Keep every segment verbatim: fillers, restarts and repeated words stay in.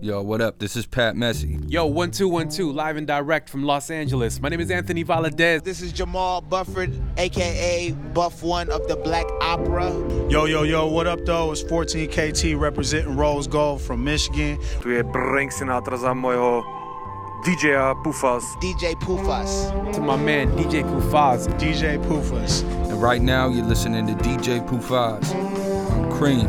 Yo, what up? This is Pat Messi. Yo, one two one two, live and direct from Los Angeles. My name is Anthony Valadez. This is Jamal Bufford, a k a. Buff One of the Black Opera. Yo, yo, yo, what up, though? It's fourteen K T representing Rose Gold from Michigan. Tu je Frank Sinatra za mojho D J-a Pufas. D J Pufas. To my man, D J Pufas. D J Pufas. And right now, you're listening to D J Pufas on Cream.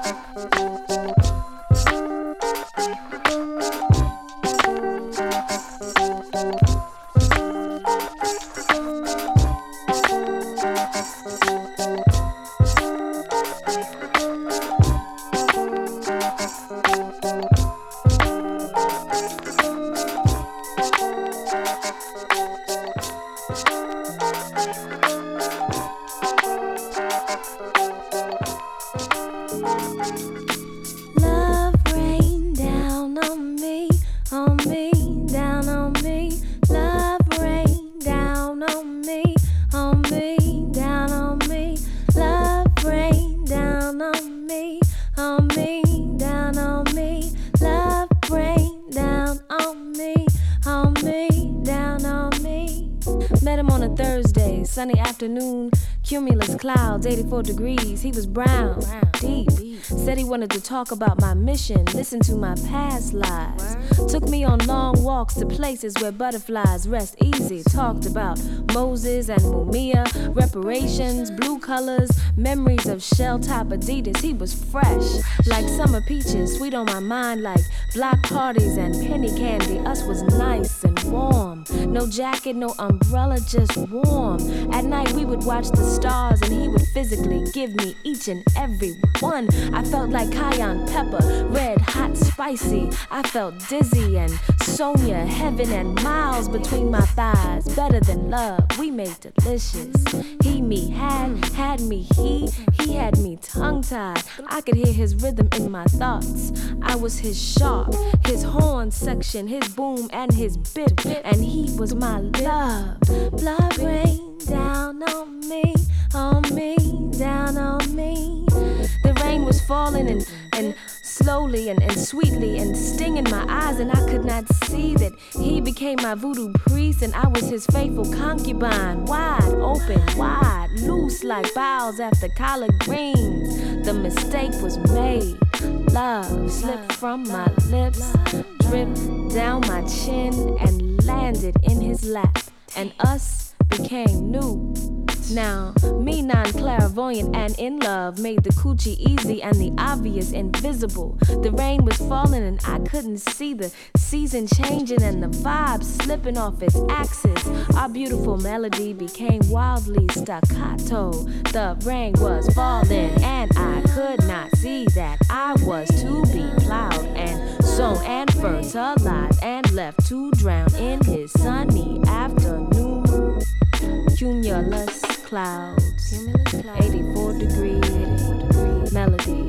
Sunny afternoon, cumulus clouds, eighty-four degrees. He was brown, deep. Said he wanted to talk about my mission, listen to my past lives. Took me on long walks to places where butterflies rest easy. Talked about Moses and Mumia, reparations, blue colors, memories of shell-top Adidas. He was fresh, like summer peaches, sweet on my mind like block parties and penny candy. Us was nice and warm. No jacket, no umbrella, just warm. At night we would watch the stars and he would physically give me each and every one. I felt like cayenne pepper, red, hot, spicy. I felt dizzy and Sonia, heaven and miles between my thighs. Better than love, we made delicious. He, me, had, had me, he, he had me tongue-tied. I could hear his rhythm in my thoughts. I was his sharp, his horn section, his boom and his bip, and he was my love. Blood rain down on me, on me, down on me. The rain was falling and, and slowly and, and sweetly and stinging my eyes, and I could not see that he became my voodoo priest and I was his faithful concubine. Wide open, wide, loose like boughs after collard greens. The mistake was made. Love slipped from my lips, dripped down my chin and landed in his lap, and us became new. Now, me non-clairvoyant and in love made the coochie easy and the obvious invisible. The rain was falling and I couldn't see the season changing and the vibe slipping off its axis. Our beautiful melody became wildly staccato. The rain was falling and I could not see that I was to be plowed and sown and fertilized and left to drown in his sunny afternoon. Cumulus clouds, eighty-four degrees, melody.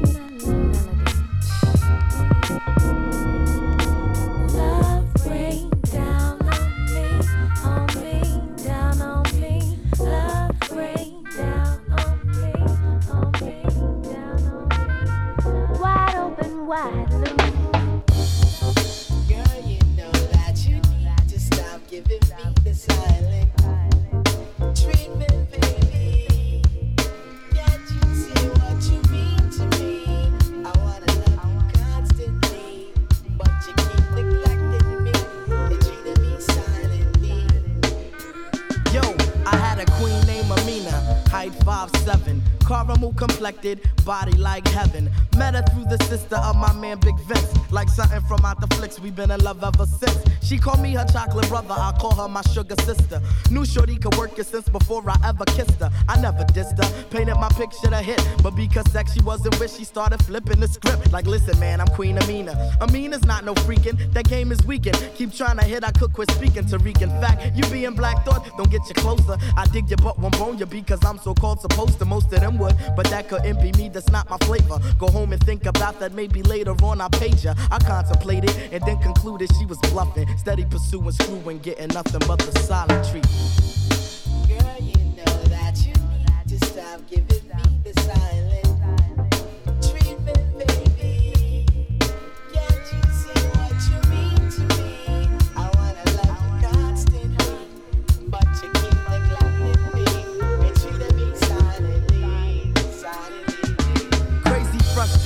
Love rain down on me, on me, down on me. Love rain down on me, on me, down on me. Wide open, wide loose. Girl, you know that you need to stop giving me the silent treatment, baby. Can't you see what you mean to me? I wanna love you constantly, but you keep neglecting me and treating me silently. Yo, I had a queen named Amina, height five seven, caramel complected, body like heaven. Met her through the sister of my man Big Vince. Like something from out the flicks, we been in love ever since. She called me her chocolate brother, I call her my sugar sister. Knew shorty could work it since before I ever kissed her. I never dissed her, painted my picture to hit. But because sex she wasn't with, she started flipping the script. Like listen man, I'm Queen Amina. Amina's not no freaking, that game is weakened. Keep trying to hit, I could quit speaking. Tariq, in fact, you being Black Thought, don't get you closer. I dig your butt, won't bone you because I'm so called supposed to. Most of them would, but that couldn't be me, that's not my flavor. Go home and think about that, maybe later on I page her. I contemplated and then concluded she was bluffing. Steady pursuing, screwing, getting nothing but the silent treatment. Girl, you know that you need to stop giving me the silent treatment, baby. Can't you see what you mean to me? I wanna love you constantly, but you keep neglecting me and treating me silently, silently. Crazy frustration,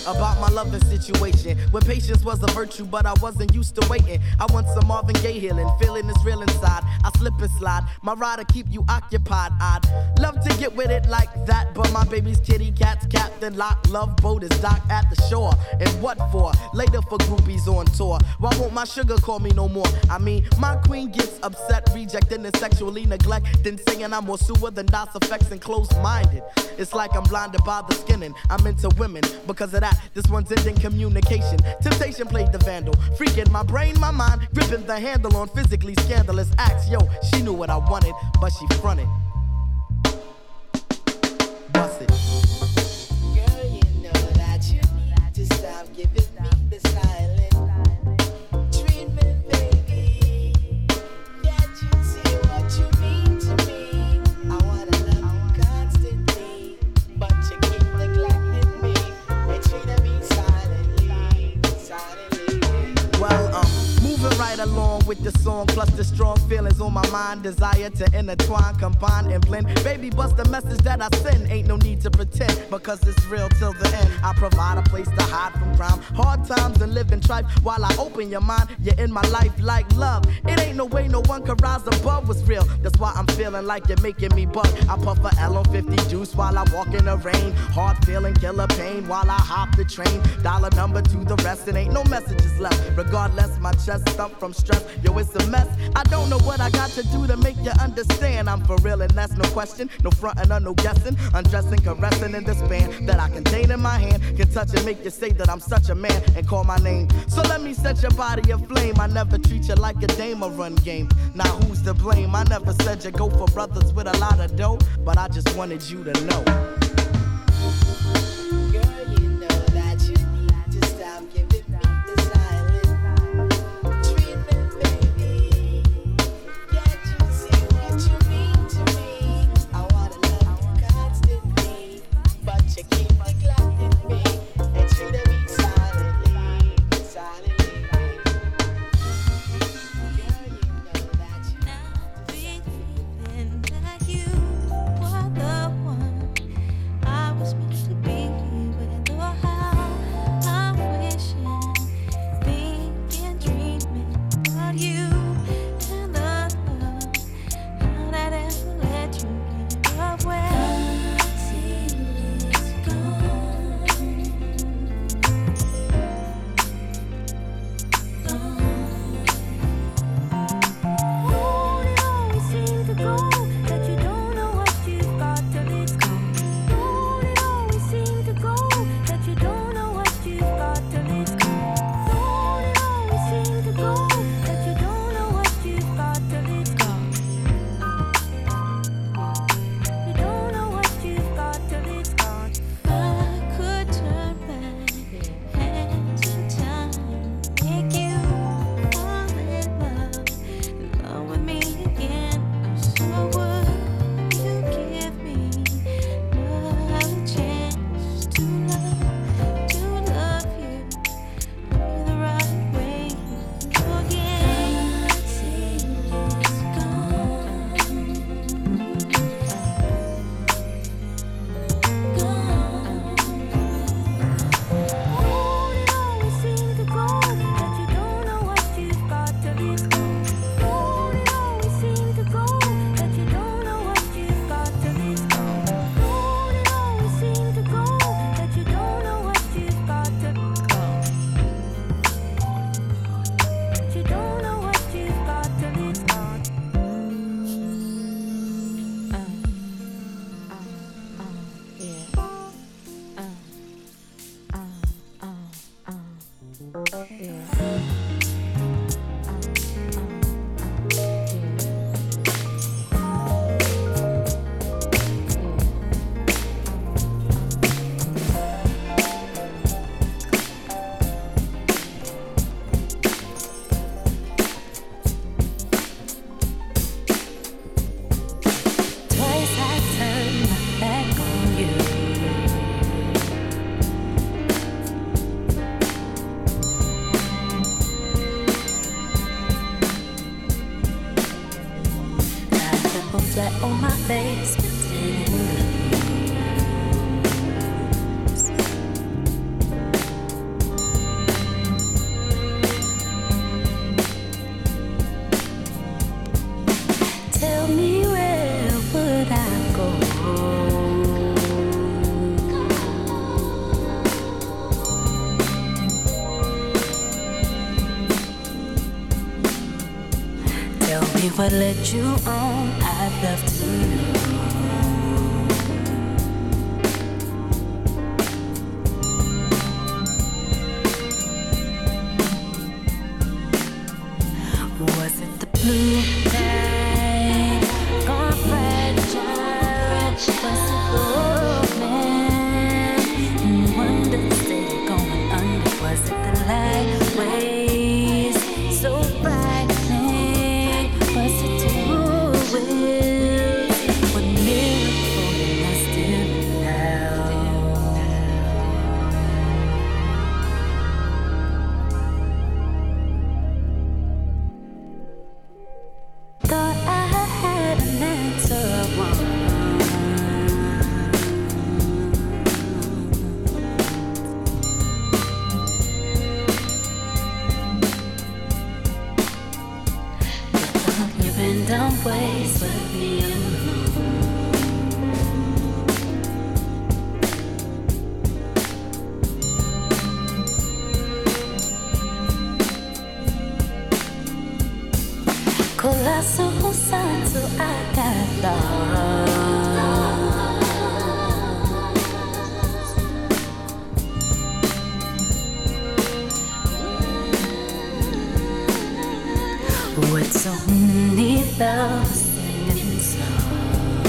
about my loving situation. When patience was a virtue, but I wasn't used to waiting. I want some Marvin Gaye healing, feeling is real inside. I slip and slide, my ride to keep you occupied. I'd love to get with it like that, but my baby's kitty cat's Captain Lock. Love boat is docked at the shore. And what for? Later for groupies on tour. Why won't my sugar call me no more? I mean, my queen gets upset, rejecting and sexually neglecting, saying I'm more sewer than DOS effects and closed-minded. It's like I'm blinded by the skinning. I'm into women. Because of that, this one's ending communication. Temptation played the vandal, freaking my brain, my mind, gripping the handle on physically scandalous acts. Yo, she knew what I wanted, but she fronted. Bust it. Girl, you know that you need to stop giving me the silent treatment, baby. Can't you see what you mean to me? I wanna love you constantly, but you keep neglecting me and treating me silently, silently. Well, um, moving right along with the song, plus the strong feelings on my mind, desire to intertwine, combine, and blend. Baby, bust the message that I send. Ain't no need to pretend, because it's real till the end. I provide a place to hide from crime, hard times and living trife. While I open your mind, you're in my life like love. It ain't no way no one can rise above what's real. That's why I'm feeling like you're making me bug. I puff a L on fifty juice while I walk in the rain. Hard feeling, killer pain while I hop the train. Dollar number to the rest, and ain't no messages left. Regardless, my chest stump from stress. Yo, it's a mess. I don't know what I got to do to make you understand. I'm for real and that's no question. No frontin' or no guessing. Undressing, caressing in this band that I contain in my hand. Can touch and make you say that I'm such a man and call my name. So let me set your body aflame. I never treat you like a dame or run game. Now who's to blame? I never said you go for brothers with a lot of dough, but I just wanted you to know. Girl, you know that you need to stop giving me the silent treatment, baby. Can't you see what you mean to me? I wanna love you constantly, but you keep neglecting me and treating me silently, silently. Girl, you know that you need to stop. That you were the one I was meant to be with. Oh, how I'm wishing, thinking, dreaming about you and the love. How that ever let you get away. It's gone, gone. Won't it always seem to go that you don't know what you've got till it's gone? Won't it always seem to go that you don't know what you've got till it's gone? Won't it always seem to go that you don't know what you've got till it's gone? You don't know what you've got till it's gone. I could turn back hands in time, make you fall in love, love with me again. So would you give me another chance to love, to love you the right way again? It's gone, gone. Won't it always seem to go that you don't know what you've got till it's gone? Won't it always seem to go that you don't know what you've got till it's gone? Won't it always seem to go that you don't know what you've got till it's gone? That you don't know what you've got till it's gone. Uh, uh, uh, yeah. Uh, uh, uh, uh, yeah. Twice I turned my back on you. I fell flat on my face, pretending to lose. me what led you on, I'd love to know. Was it the blue light, gone fragile? Was it the man in wonder, steady going under? Was it the light waves so frightening? Was it two wheels? What miracle did I still now? Thought I had an answer, one. You've been down ways with me colossal sign, so I got lost. With so many loves singing songs,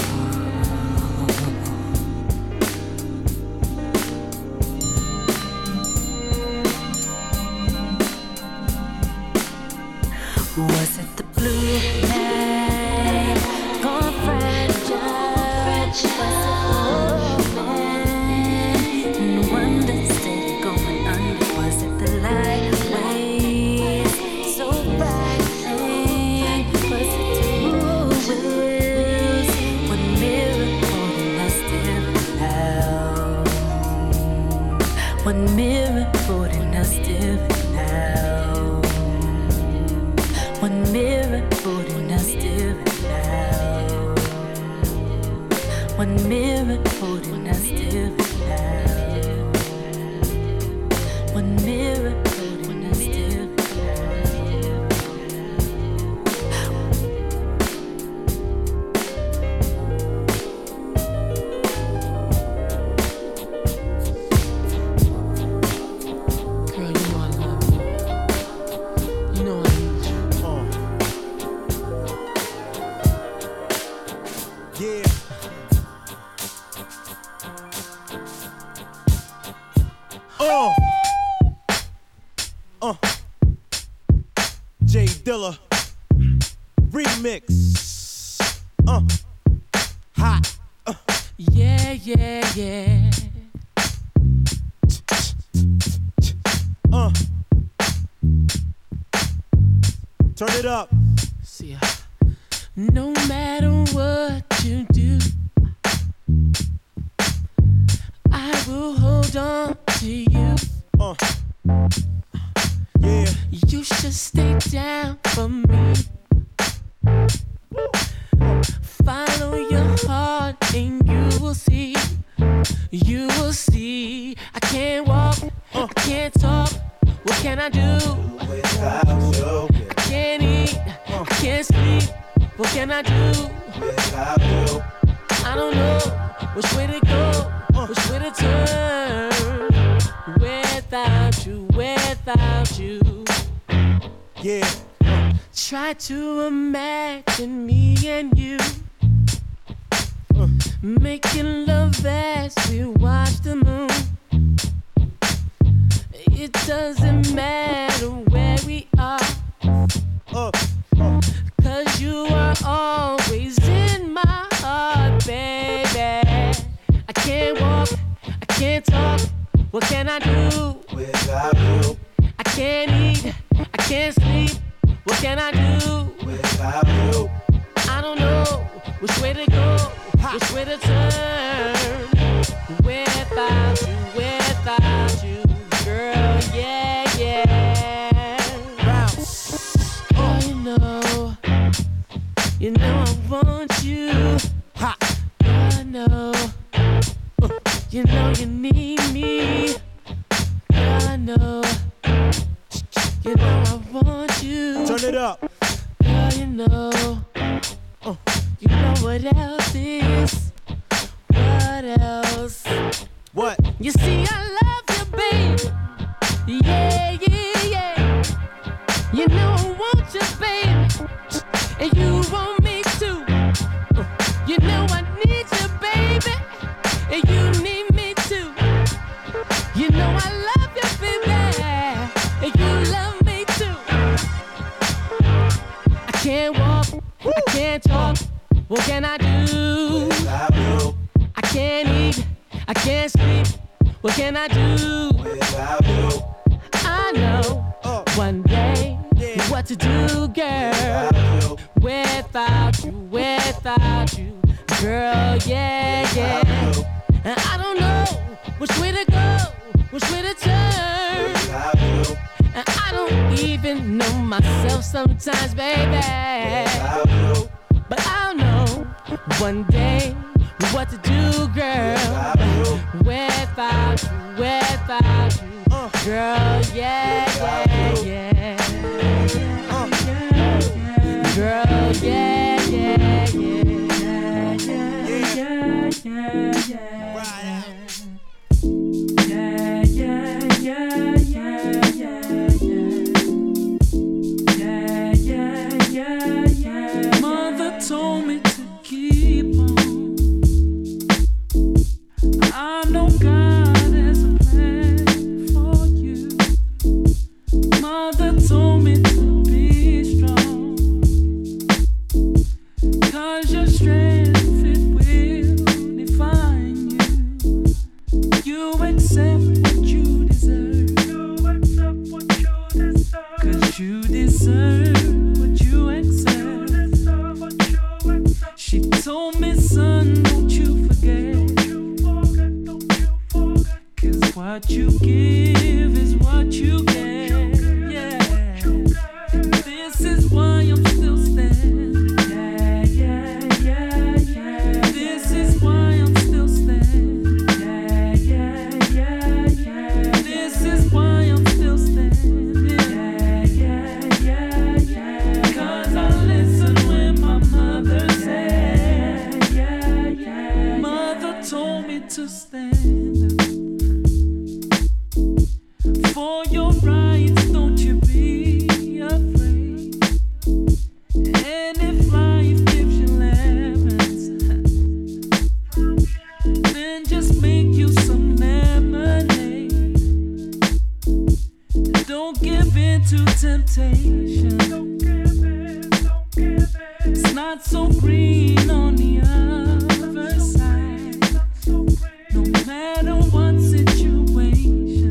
was it the blue light, gone fragile? Was it the man in wonder, steady going under? Was it the light waves so frightening? Was it two wheels? What miracle did I still now? What miracle did I still now? What miracle did I still now? What miracle did I still now? What miracle did I still now? Girl, you know I love you. You know I need you. Yeah. Uh. Uh. Jay Dilla. Remix. Uh. Hot. Uh. Yeah, yeah, yeah. Uh. Turn it up. See ya. No matter what you do, I will hold on to you. Uh. Yeah. You should stay down for me. Follow your heart and you will see. You will see. I can't walk, I can't talk. What can I do without you? I can't eat, I can't sleep. What can I do without you? I don't know which way to go, which way to turn. Without you, without you. Yeah. Try to imagine me and you making love as we watch the moon. It doesn't matter where we are, Uh. Uh. cause you are always in my heart, baby. I can't walk, I can't talk. What can I do Without you. I can't eat, I can't sleep. What can I do Without you. I don't know which way to go, which way to turn. Without you, without you, girl, yeah, yeah. Bounce. Oh, you know, you know I want you. Ha. I know, you know you need me. I know, you know I want you. Turn it up. Girl, you know. what else is? What else? What? You see, I love you, baby. Yeah, yeah, yeah. You know I want you, baby. And you want me too. You know I need you, baby. And you need me too. You know I love you, baby. And you love me too. I can't walk, I can't talk. What can I do? Without you. I can't eat, I can't sleep. What can I do? Without you. I know Uh. one day Yeah. what to do, girl. Without you. Without you, without you, girl, yeah, yeah. Without you. And I don't know which way to go, which way to turn. Without you. And I don't even know myself sometimes, baby. Without you. But I'll know one day what to do, girl. Without you. Without you, without you, Uh. girl, yeah, yeah, yeah. Uh. Girl, yeah, yeah, yeah. Right out. Mother told me to keep on. I know God has a plan for you. Mother told me to be strong. 'Cause your strength, it will define you. You accept what you deserve. You accept what you deserve. 'Cause you deserve what you accept. She told me, son, don't you forget. Cause what you give is what you get. Yeah. And this is why I'm still standing. Yeah, yeah, yeah, yeah. This is why I'm still standing. Yeah, yeah, yeah, yeah. This is why I'm still standing. Yeah, yeah, yeah, yeah. 'Cause I listen when my mother said. Yeah, yeah. Mother told me to stand for your rights, don't you be afraid. And if life gives you lemons, then just make you some lemonade. Don't give in to temptation. It's not so green on the other side. No matter what situation,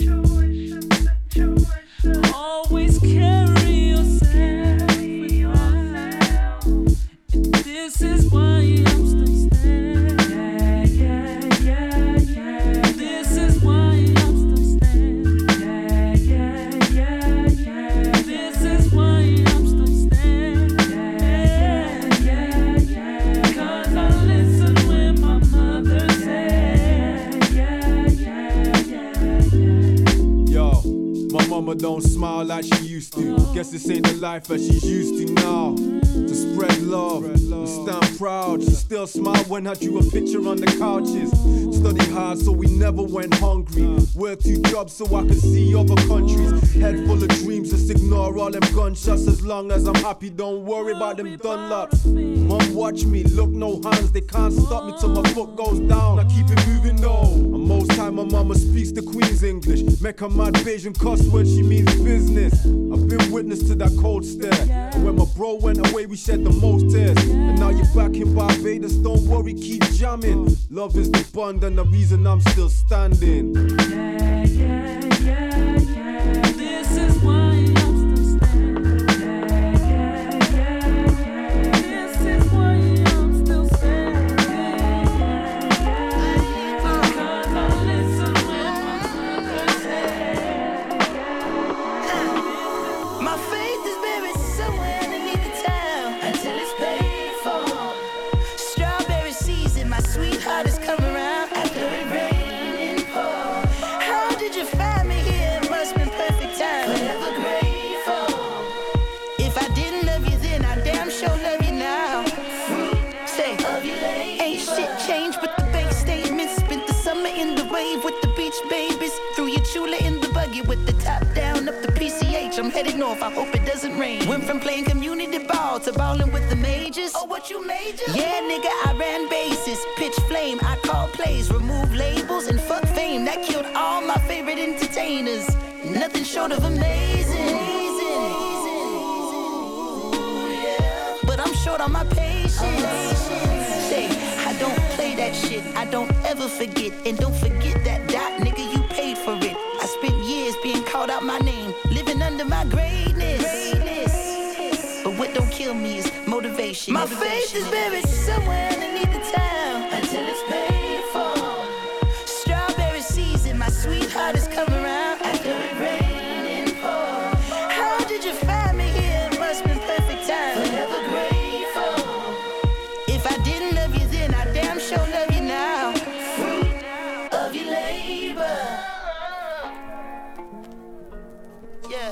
always carry yourself with pride. And this is why I'm still standing. Yeah, yeah, yeah, yeah. This is why I'm still standing. Yeah, yeah, yeah, yeah. This is why I'm still standing. Yeah, yeah, yeah. 'Cause I listen when my mother said. Yeah, yeah, yeah, yeah. Yo, my mama don't smile like she used to. Guess this ain't the life that she's used to now. To spread love, and stand proud. She still smile when I drew a picture on the couches. Study hard so we never went hungry. Work two jobs so I could see other countries. Head full of dreams, just ignore all them gunshots. As long as I'm happy, don't worry about them Dunlops. Mom, watch me, look no hands. They can't stop me till my foot goes down. I keep it moving though. And most time my mama speaks the Queen's English. Make her mad Bayesian cuss when she means business. I've been witness to that cold stare. And when my bro went away, we shed the most tears. And now you're back in Barbados, don't worry, keep jamming. Love is the bond and the reason I'm still standing. Yeah, yeah, yeah, yeah. This is why I'm still standing. Yeah, yeah, yeah, yeah. This is why I'm still standing. Yeah, yeah, yeah. 'Cause I listen when my mother said. My faith is buried somewhere underneath the town until it's paid for. Strawberry season, my sweetheart has come around after it rained and poured. north, I hope it doesn't rain. Went from playing community ball to balling with the majors. Oh, what you major? Yeah, nigga, I ran bases, pitch flame, I called plays, removed labels, and fuck fame. That killed all my favorite entertainers. Nothing short of amazing. But I'm short on my patience. Say, I don't play that shit, I don't ever forget. And don't forget that dot, nigga, you paid for it. I spent years being called out my name, living under my greatness. But what don't kill me is motivation. My faith is buried somewhere underneath the town until it's paid for. Strawberry season, my sweetheart has come around after it rained and poured. How did you find me here? It must been perfect time. Forever grateful. If I didn't love you then, I damn sure love you now. Fruit of your labor. Yeah.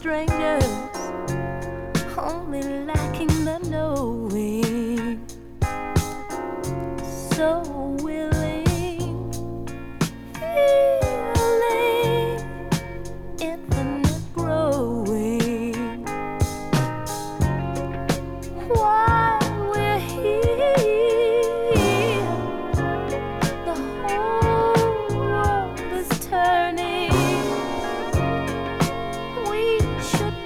strangers, only lacking the knowing. So willing, feeling infinite growing. While we're here, the whole world is turning. We should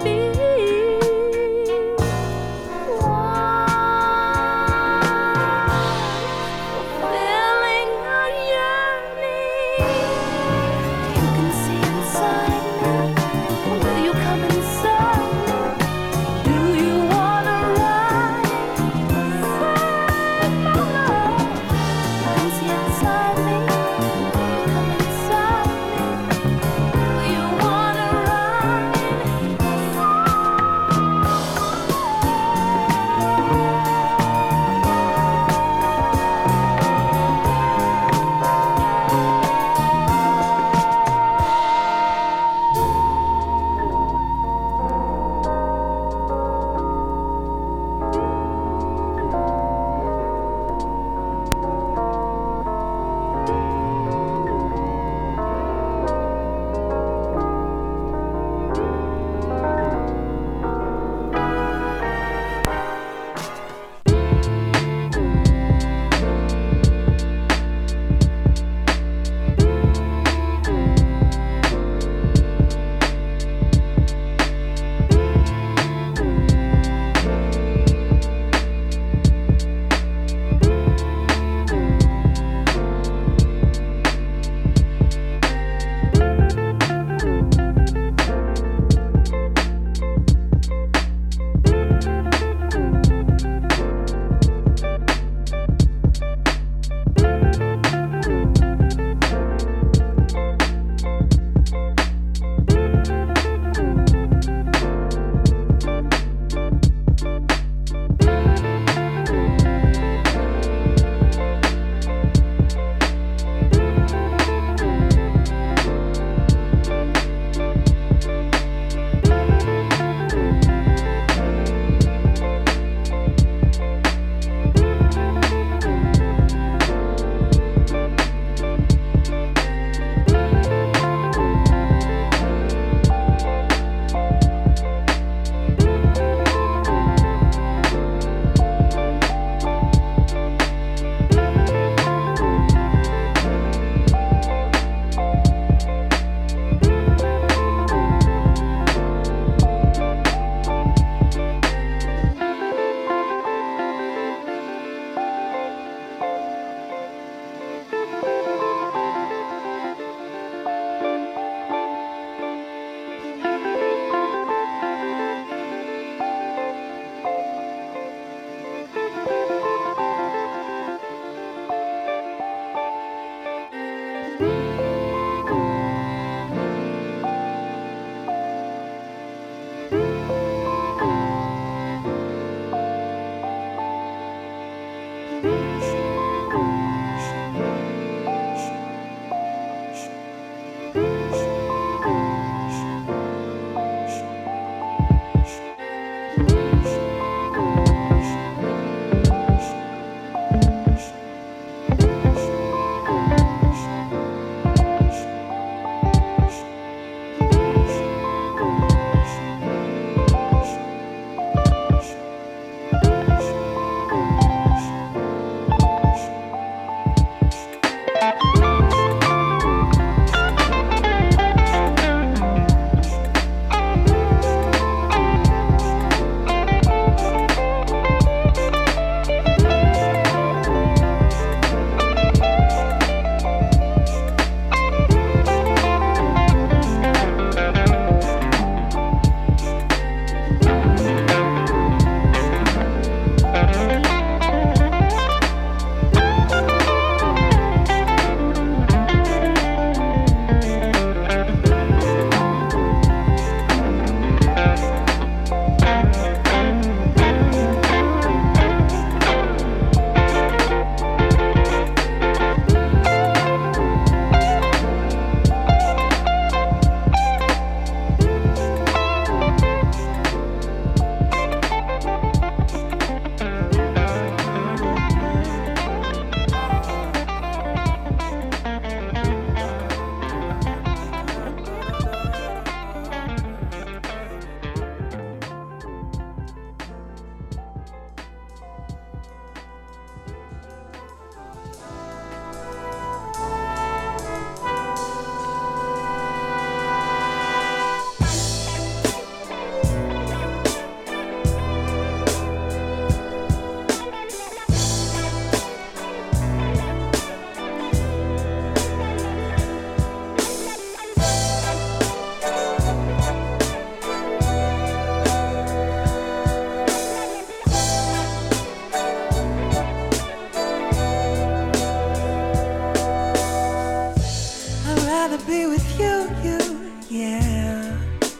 rather be with you, you, yeah.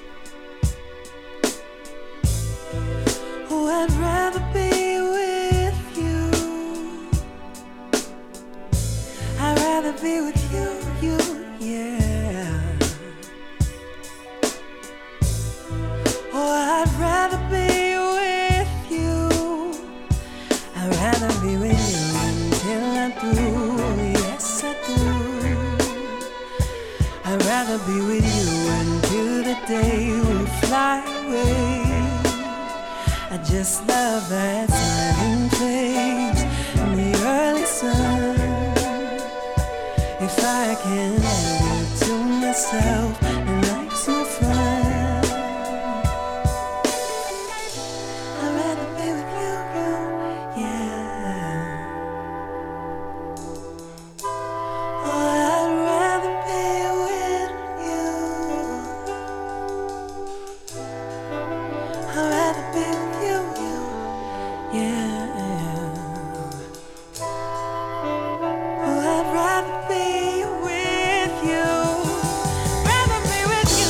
Oh, I'd rather be with you. I'd rather be with you, you, yeah. Oh, I'd rather be with you. I'd rather be with you until I'm through, yes I do. I'd rather be with you until the day we fly away. I just love that smiling face in the early sun. If I can have you to myself, then life's no fun. I'd rather be with you, you, yeah. Oh, I'd rather be with you. I'd rather be with you, you, yeah. Oh, I'd rather be with you. Rather be with you.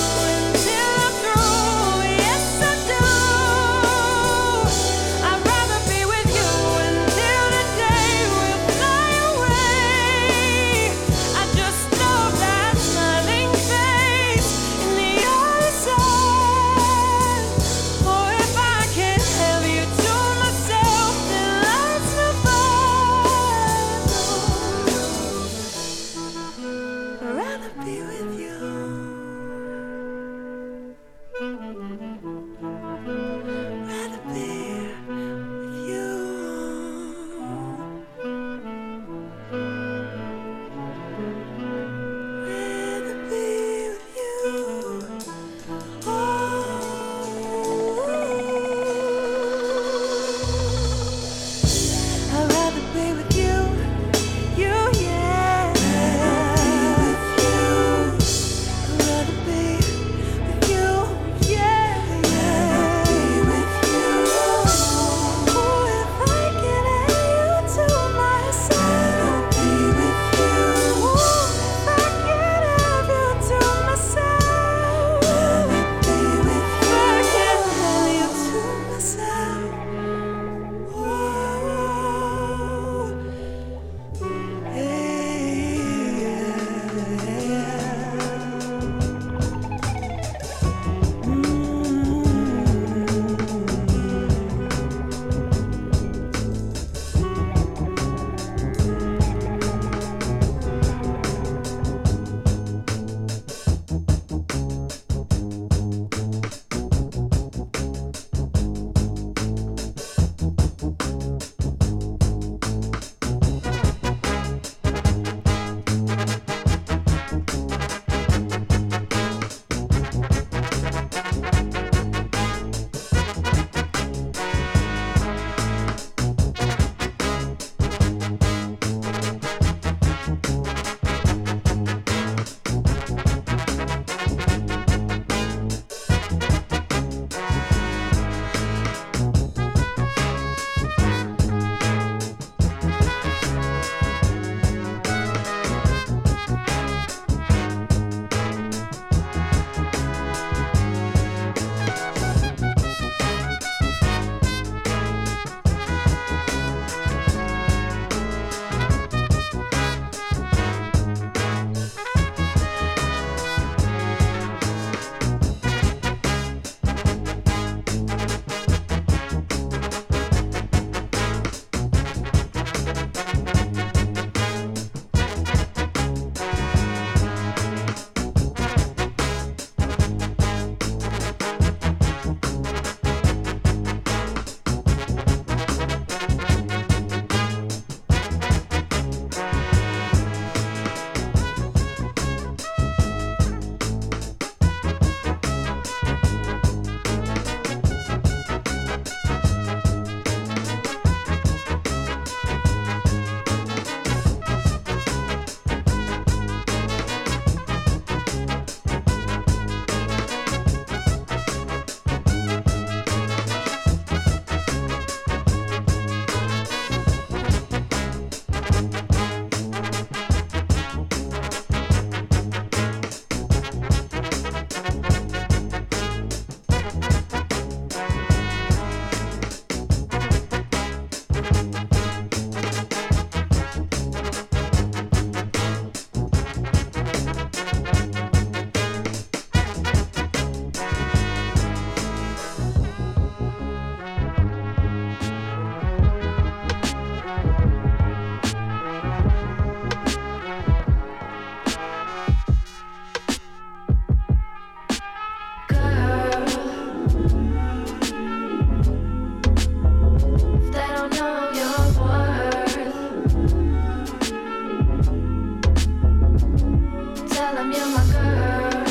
him you're my girl.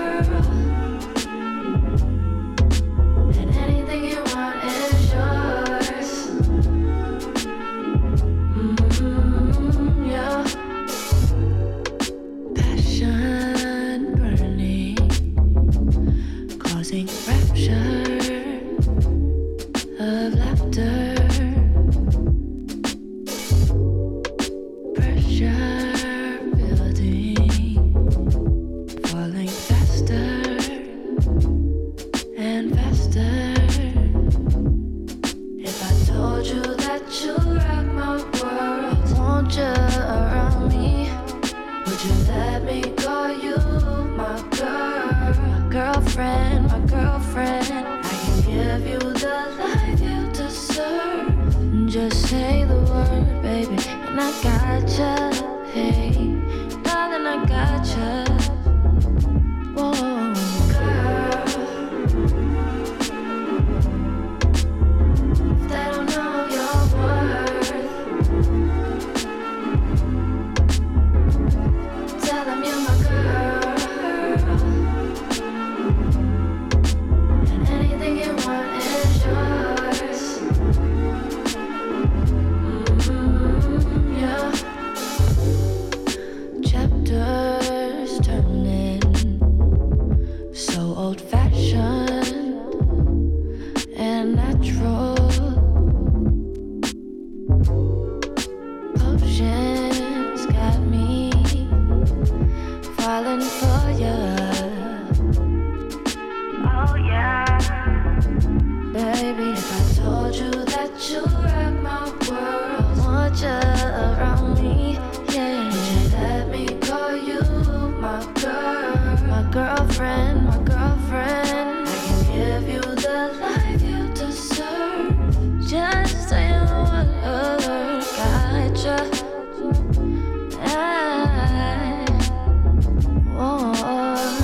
And anything you want is yours. Mm-hmm, yeah. Passion burning, causing rapture of laughter. Pressure building, falling faster and faster. If I told you that you rock my world, want you around me, would you let me call you my girl, my girlfriend, my girlfriend? I can give you the life you deserve. Just say the word, baby, and I gotcha. Hey, darling, I gotcha. Whoa, girl. If they don't know your worth, tell them you're my girl. And anything you want is yours. Mm-hmm, yeah. Chapters turning, so old-fashioned and natural. Potions got me falling for ya. Oh yeah, baby. If I told you that you rock my world, want you around me, yeah. Would you let me call you my girl, my girlfriend, my girlfriend? I can give you the life you deserve. Just say the word, gotcha. I, oh,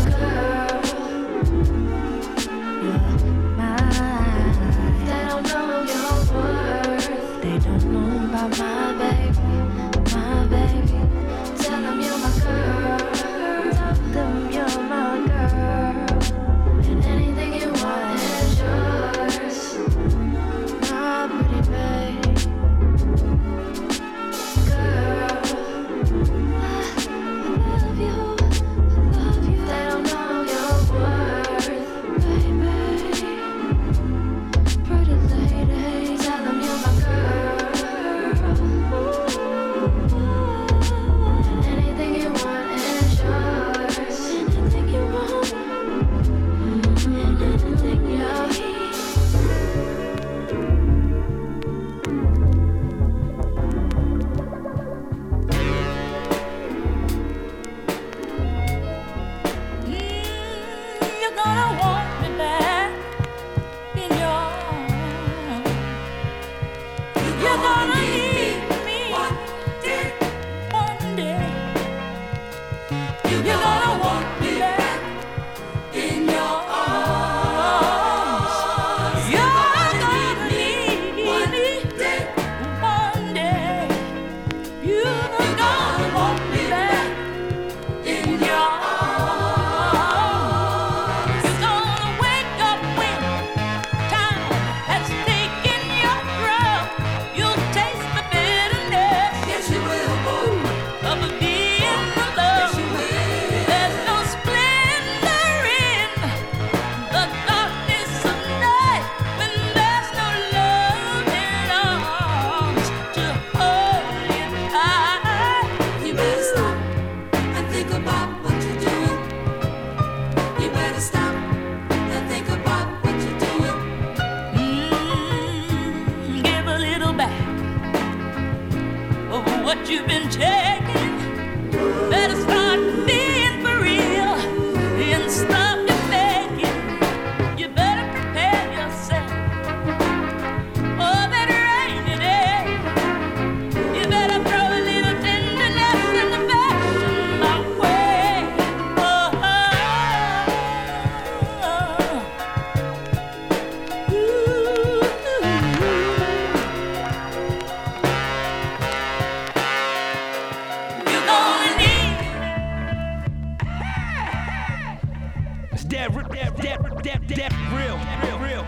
That, that, that, that, that, real, real, real.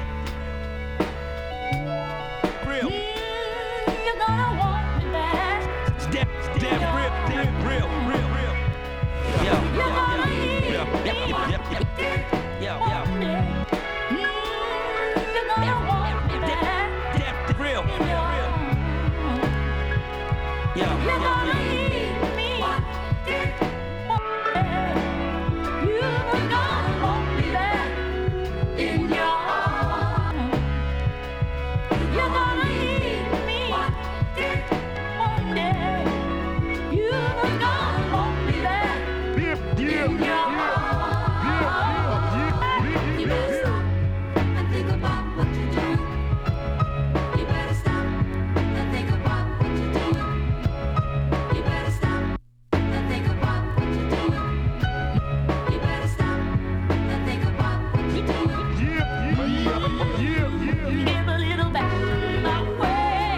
Real. You're gonna want me back. That, that, real, that, real, real, real. Yo, yo, yo, yo, yo, yo, yo, yo. You're gonna want me back. That, real, real, real. Yo, You're yo, gonna yo. need me. You're gonna want me back in your arms. You're gonna need me one day. You're gonna want me back in your arms. You better stop and think about what you're doing. You better stop and think about what you're doing. You better stop and think about what you're doing. You better stop and think about what you're doing. Give a little back my way.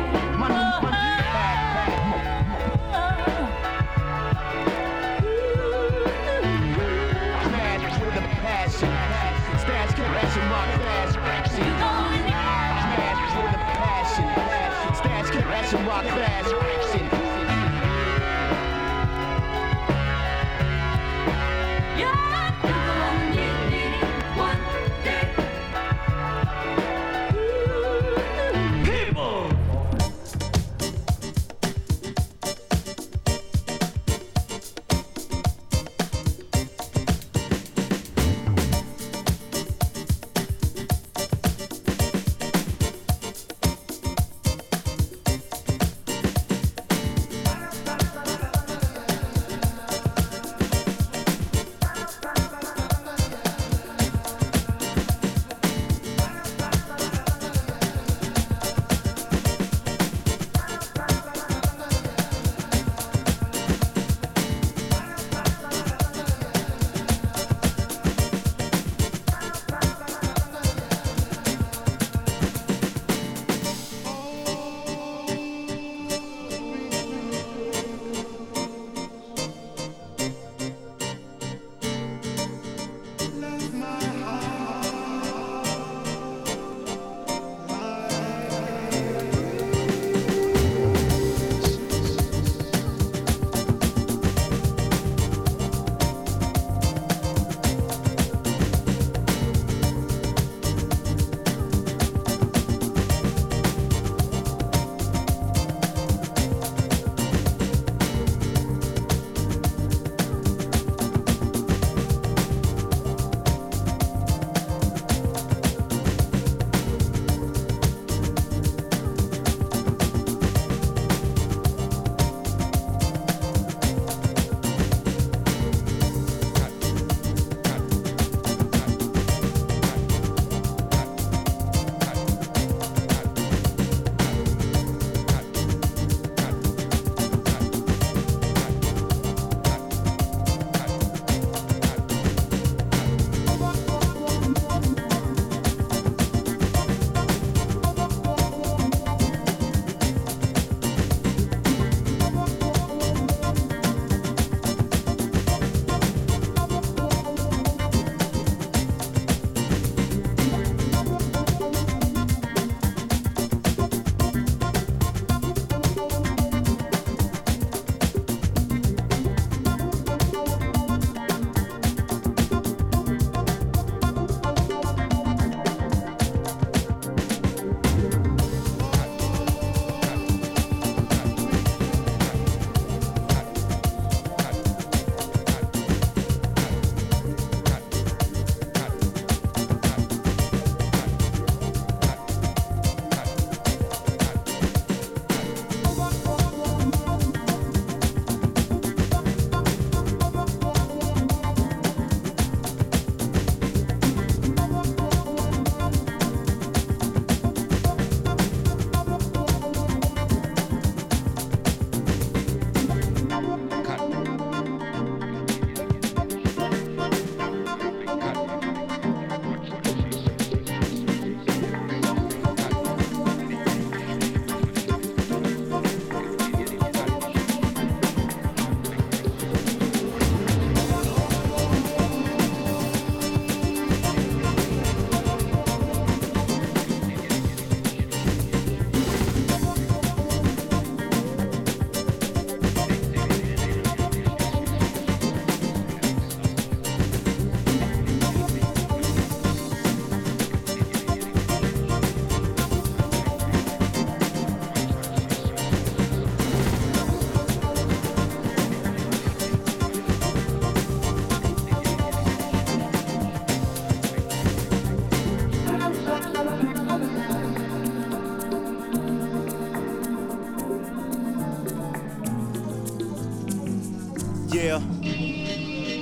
Smash with a passion. Stash caressing rock fast. Smash with a passion. Stash caressing rock fast.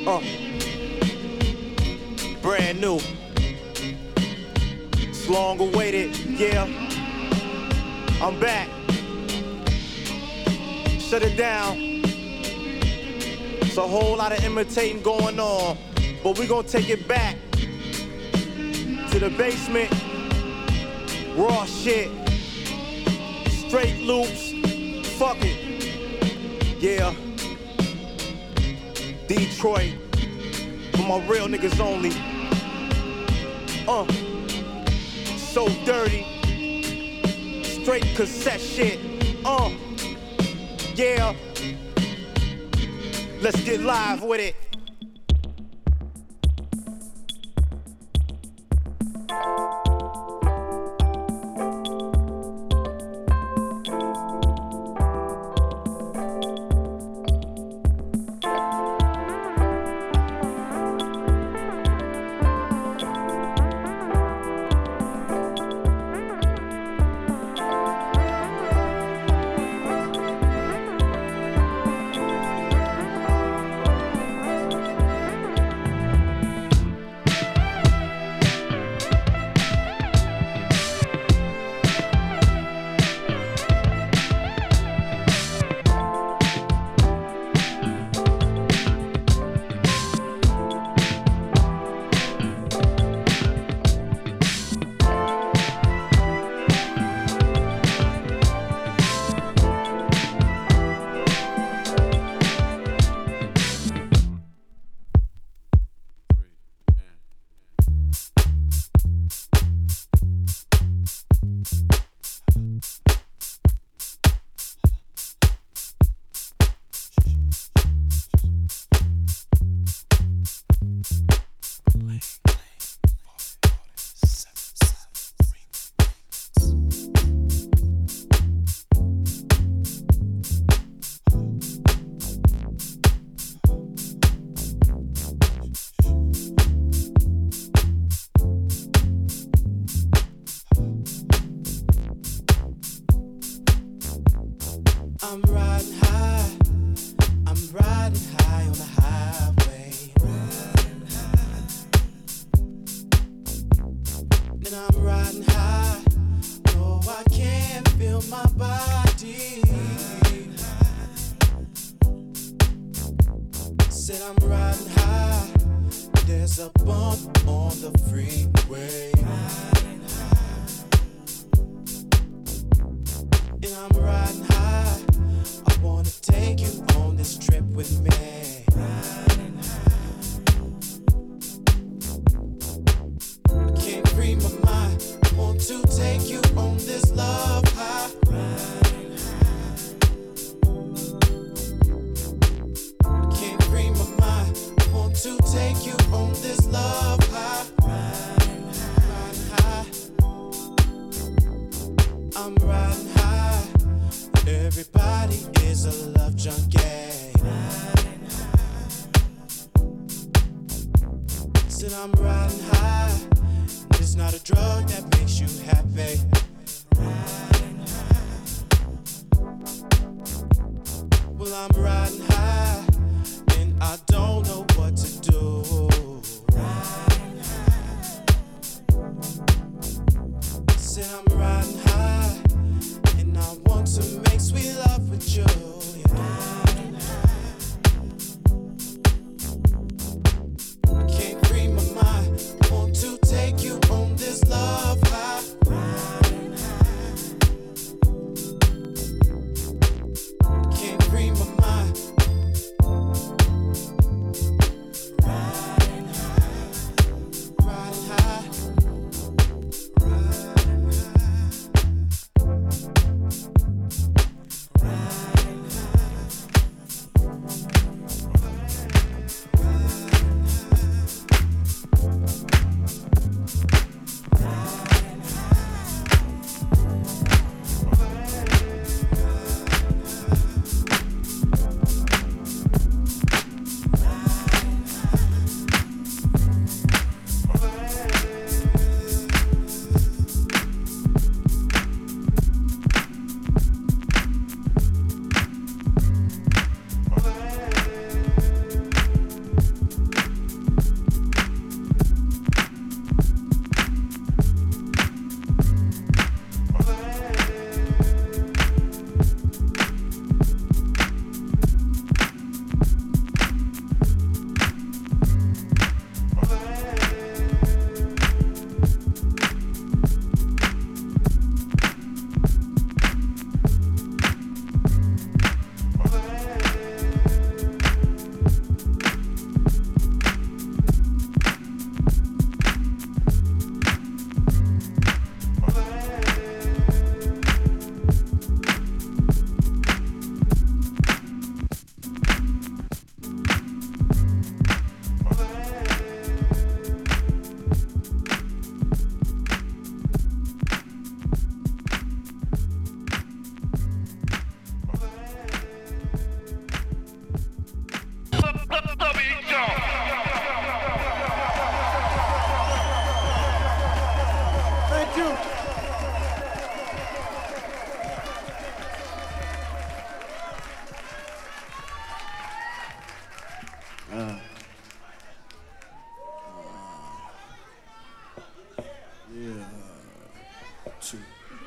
Uh. Brand new. It's long awaited, yeah. I'm back. Shut it down. It's a whole lot of imitating going on, but we gonna take it back to the basement. Raw shit. Straight loops. Fuck it. Yeah. Detroit. For my real niggas only. Uh. So dirty. Straight cassette shit. Uh. Yeah. Let's get live with it. I'm riding high, I'm riding high on the highway. Riding high. And I'm riding high, no I can't feel my body. Said I'm riding high, there's a bump on the freeway. Riding high. And I'm riding high, I wanna take you on this trip with me. Riding high. I can't free my mind, I want to take you on this love high. Riding high. I can't free my mind, I want to take you on this love high. Riding high. I'm riding high. Everybody is a love junkie. Said I'm riding high. It's not a drug that makes you happy. Well, I'm riding high, and I don't know what to do. Said I'm riding high, and I want to make sweet love with you. I can't free my mind, I want to take you on this love high. I can't free my mind, I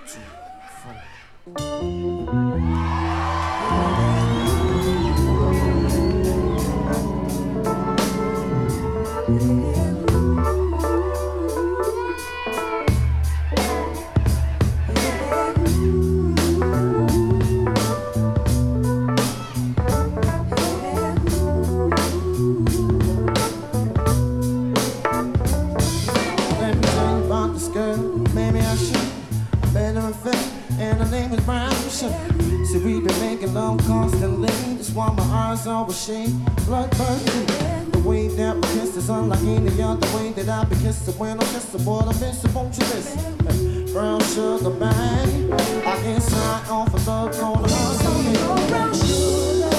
Let me tell you about this girl, maybe I should. Better in fact, and her name is Brown Sugar. See, we've been making love constantly. That's why my eyes always shade blood burning. The way that we kiss is unlike any other way that I be kissing when I'm kissing. What I miss, won't you listen? Brown sugar, bang. I can sign off a love on the hustle. Brown sugar.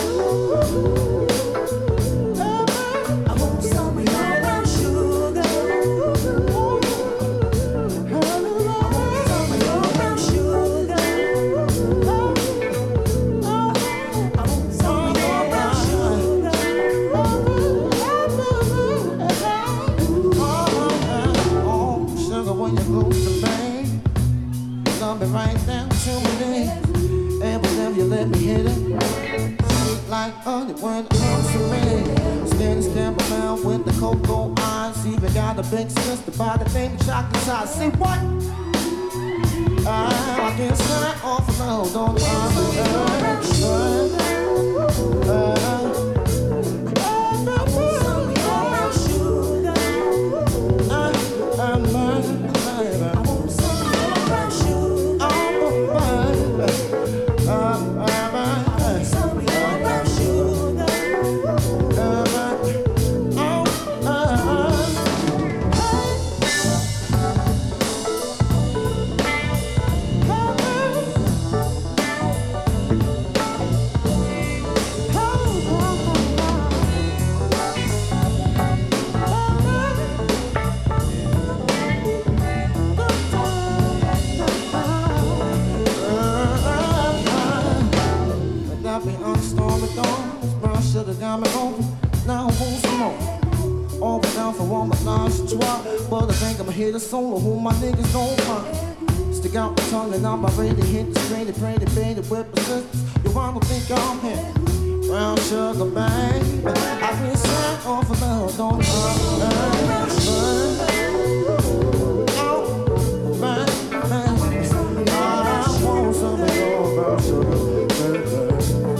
I want some of your brown sugar. Right down to my knees, and whenever you let me hit it, sweet like honey when it comes to me. Skinny stamp around with the cocoa eyes, even got a big sister by the name of Chocolate Size. See what? I, I can sign off a load on the earth. Uh, uh, got me over, now I want some more. All but down for one menage a trois, but I think I'ma hit a solo who my niggas don't mind. Stick out my tongue and I'm about ready to hit the straight, pretty baby with persistence. You wanna think I'm here? Brown sugar, bang. I can sign off a love, don't I want some of your brown sugar, baby.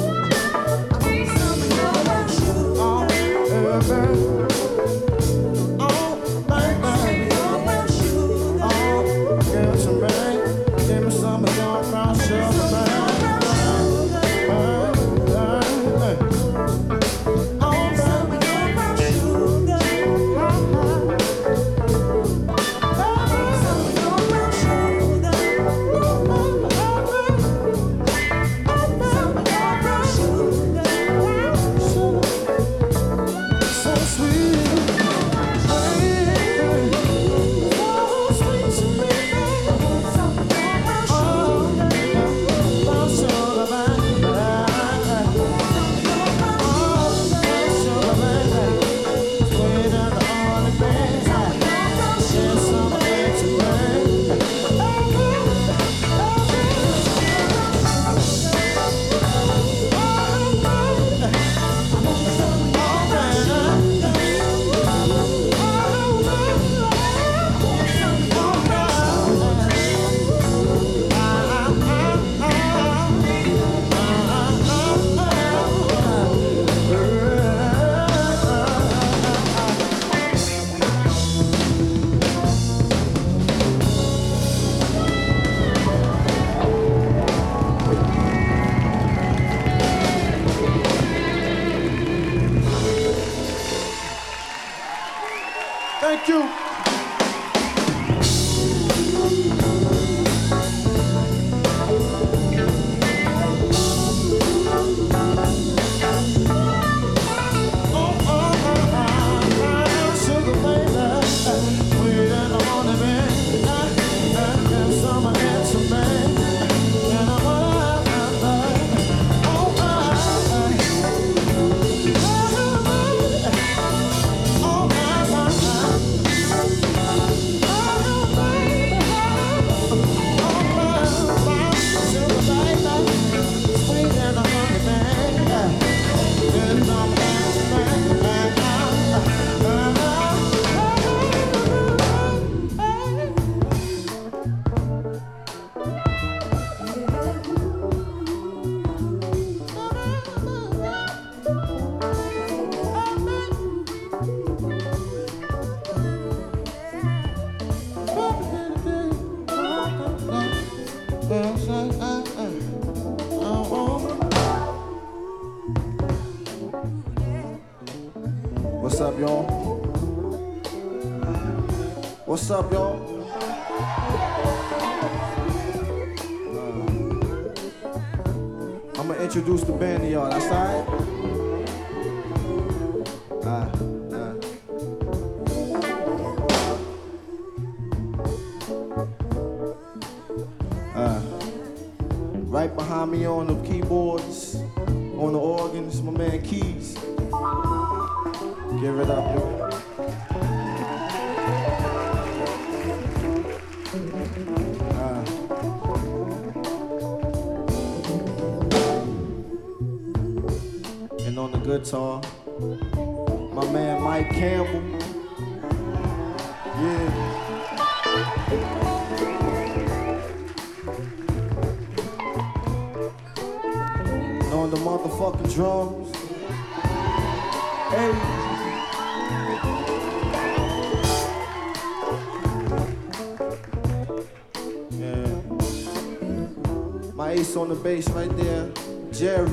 Thank you. What's up, y'all? Uh, I'm gonna introduce the band to y'all. That's all right? Uh, uh. Uh, right behind me on the keyboards, on the organs, my man Keys. Give it up, yo. Uh. And on the guitar, my man Mike Campbell. Yeah. And on the motherfucking drums. Hey. Yeah. My ace on the bass right there, Jerry.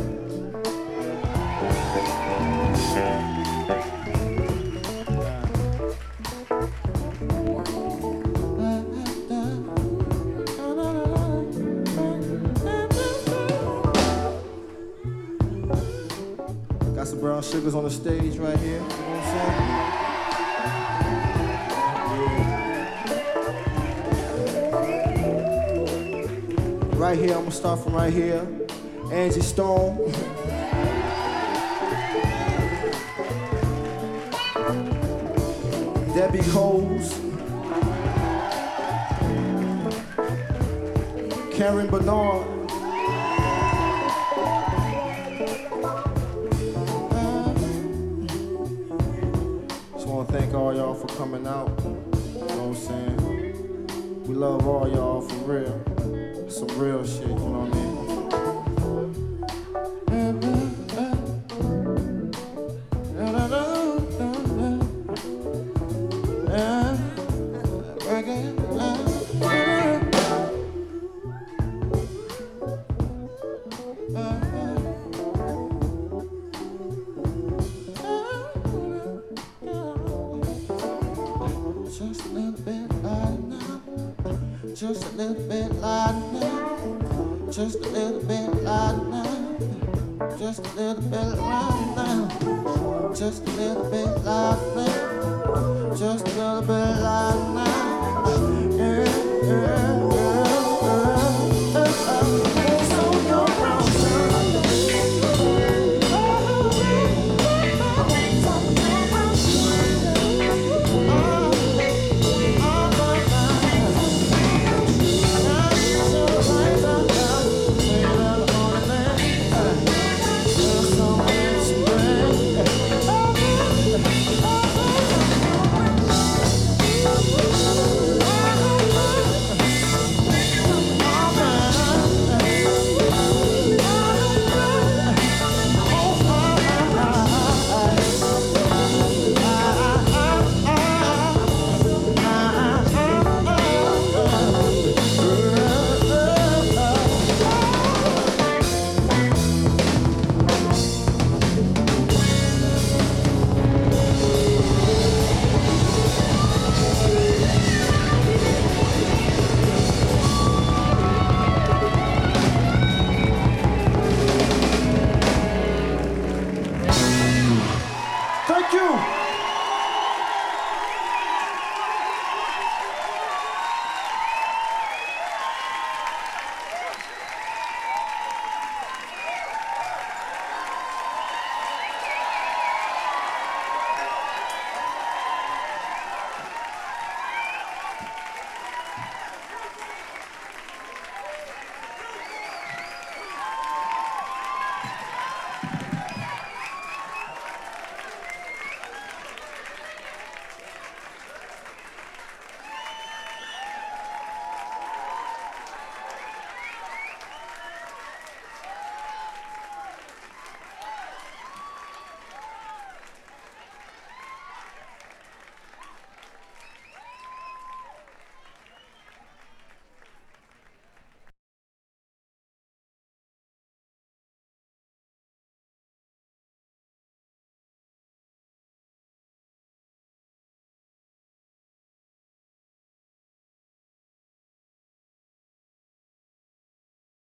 Got some brown sugars on the stage right here. You know what I'm saying? Right here, I'm gonna start from right here. Angie Stone. Debbie Coles. Karen Bernard. Just wanna thank all y'all for coming out. You know what I'm saying? We love all y'all for real. Some real shit, you know what I mean? Just a little bit louder now. Just a little bit louder now. Just a little bit louder now. Just a little bit louder now. Just a little bit louder now. Just a little bit louder now.